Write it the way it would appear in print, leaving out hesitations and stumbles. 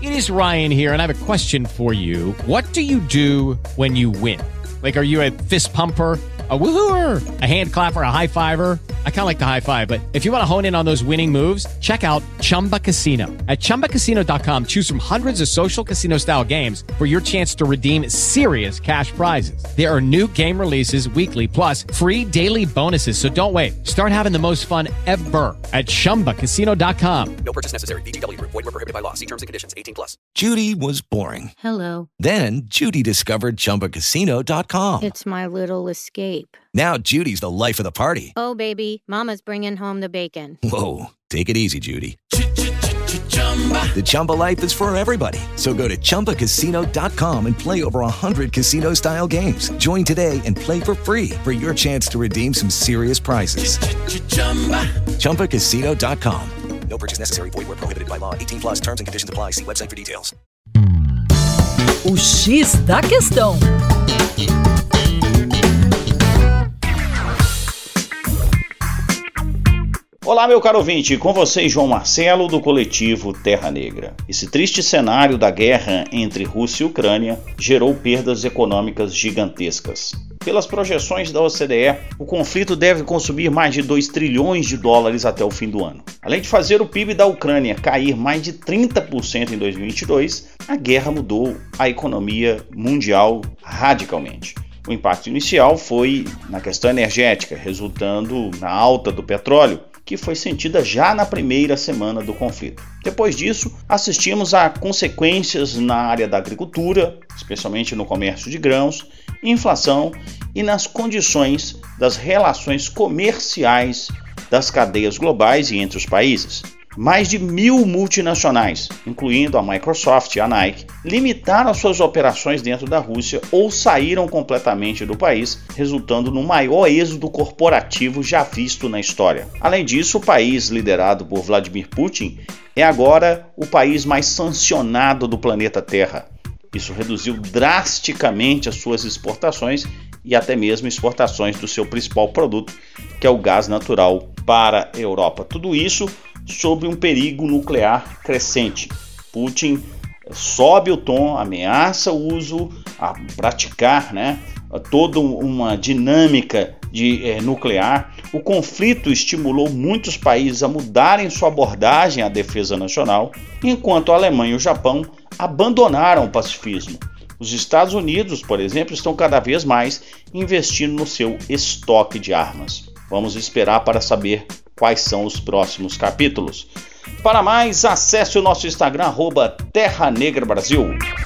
It is Ryan here, and I have a question for you. What do you do when you win? Like, are you a fist pumper, a woohooer, a hand clapper, a high fiver? I kind of like the high five, but if you want to hone in on those winning moves, check out Chumba Casino. At ChumbaCasino.com, choose from hundreds of social casino-style games for your chance to redeem serious cash prizes. There are new game releases weekly, plus free daily bonuses. So don't wait. Start having the most fun ever at ChumbaCasino.com. No purchase necessary. VGW Group. Void where prohibited by law. See terms and conditions. 18+. Judy was boring. Hello. Then Judy discovered ChumbaCasino.com. It's my little escape. Now Judy's the life of the party. Oh, baby, mama's bringing home the bacon. Whoa, take it easy, Judy. The Chumba life is for everybody. So go to ChumbaCasino.com and play over 100 casino-style games. Join today and play for free for your chance to redeem some serious prizes. ChumbaCasino.com. No purchase necessary. Void where prohibited by law. 18+. Terms and conditions apply. See website for details. O X da Questão. Olá, meu caro ouvinte, com vocês João Marcelo do coletivo Terra Negra. Esse triste cenário da guerra entre Rússia e Ucrânia gerou perdas econômicas gigantescas. Pelas projeções da OCDE, o conflito deve consumir mais de 2 trilhões de dólares até o fim do ano. Além de fazer o PIB da Ucrânia cair mais de 30% em 2022, a guerra mudou a economia mundial radicalmente. O impacto inicial foi na questão energética, resultando na alta do petróleo, que foi sentida já na primeira semana do conflito. Depois disso, assistimos a consequências na área da agricultura, especialmente no comércio de grãos, inflação e nas condições das relações comerciais das cadeias globais e entre os países. Mais de 1.000 multinacionais, incluindo a Microsoft e a Nike, limitaram suas operações dentro da Rússia ou saíram completamente do país, resultando no maior êxodo corporativo já visto na história. Além disso, o país liderado por Vladimir Putin é agora o país mais sancionado do planeta Terra. Isso reduziu drasticamente as suas exportações e até mesmo exportações do seu principal produto, que é o gás natural para a Europa. Tudo isso sob um perigo nuclear crescente. Putin sobe o tom, ameaça o uso, a praticar toda uma dinâmica nuclear. O conflito estimulou muitos países a mudarem sua abordagem à defesa nacional, enquanto a Alemanha e o Japão abandonaram o pacifismo. Os Estados Unidos, por exemplo, estão cada vez mais investindo no seu estoque de armas. Vamos esperar para saber quais são os próximos capítulos. Para mais, acesse o nosso Instagram, @Terra Negra Brasil.